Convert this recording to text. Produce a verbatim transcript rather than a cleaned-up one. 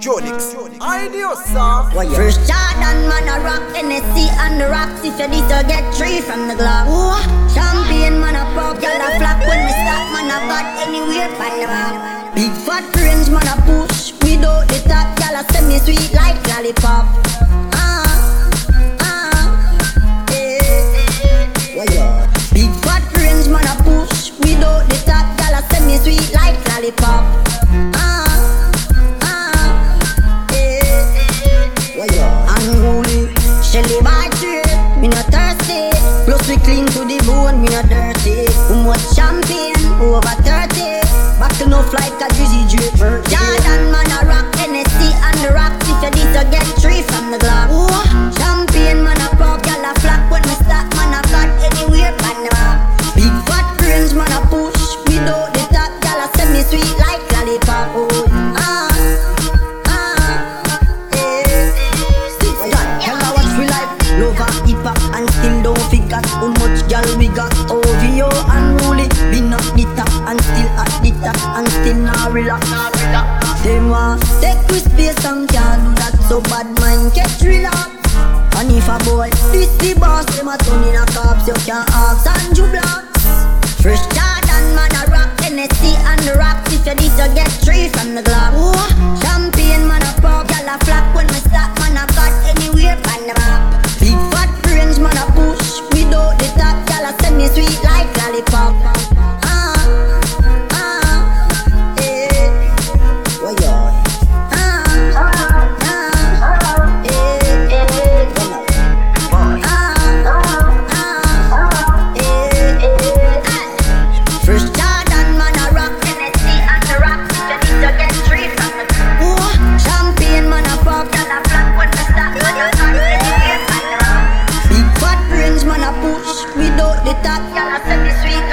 Jonix, I knew, sir. First Jordan, man, a rock, N S C and the rocks. If you this, you get three from the Glock. Champion, man, a pop, y'all a flock. When we stop, man, a got anywhere by the map. Big fat range, man, a push. Without the top, y'all a semi sweet like lollipop. Ah, ah, yeah. Big fat range, man, a push. Without the top, y'all a semi sweet like lollipop. Ah. Unruly, Shelly by trade, me not thirsty. Plus we clean to the bone, me not dirty. Who much champagne, over thirty. Back enough like a drizzy drip. Jordan, man, a rock, N S C and the rocks. If you this, you get three from the Glock. Champagne, man, a pop, y'all a flock. When we stop, man, a got anywhere by the map. Big fat range, man, a push. Without the top, y'all a semi sweet like lollipop. Oh, ah. Lover, hip hop and still don't figure how much gal we got. O V O unruly, been up the top and still at the top and still not relax. Them want take with space and can't do that, so bad mind get relax. And if a boy this the boss, them a turn in a cops, you can't ask Andrew Blocks. Fresh Jordan, man, a rock, N S C and the rocks. If you this, you get three from the Glock. Champagne, man, a pop, gal a flock. When we stop, man, a got anywhere by the map. Big fat range, man, a push. Without the top, y'all a semi sweet like lollipop. Ah, ah, eh. Why y'all? Ah, ah, eh, eh. Ah, ah, eh, eh. First Jordan, man, a rock, N S C and the rocks. If you need to get three from the top. Champagne, man, a pop, y'all a flock. When we stop, when you start, anywhere by the map. Big fat range, man, a push. Without the top, y'all a semi sweet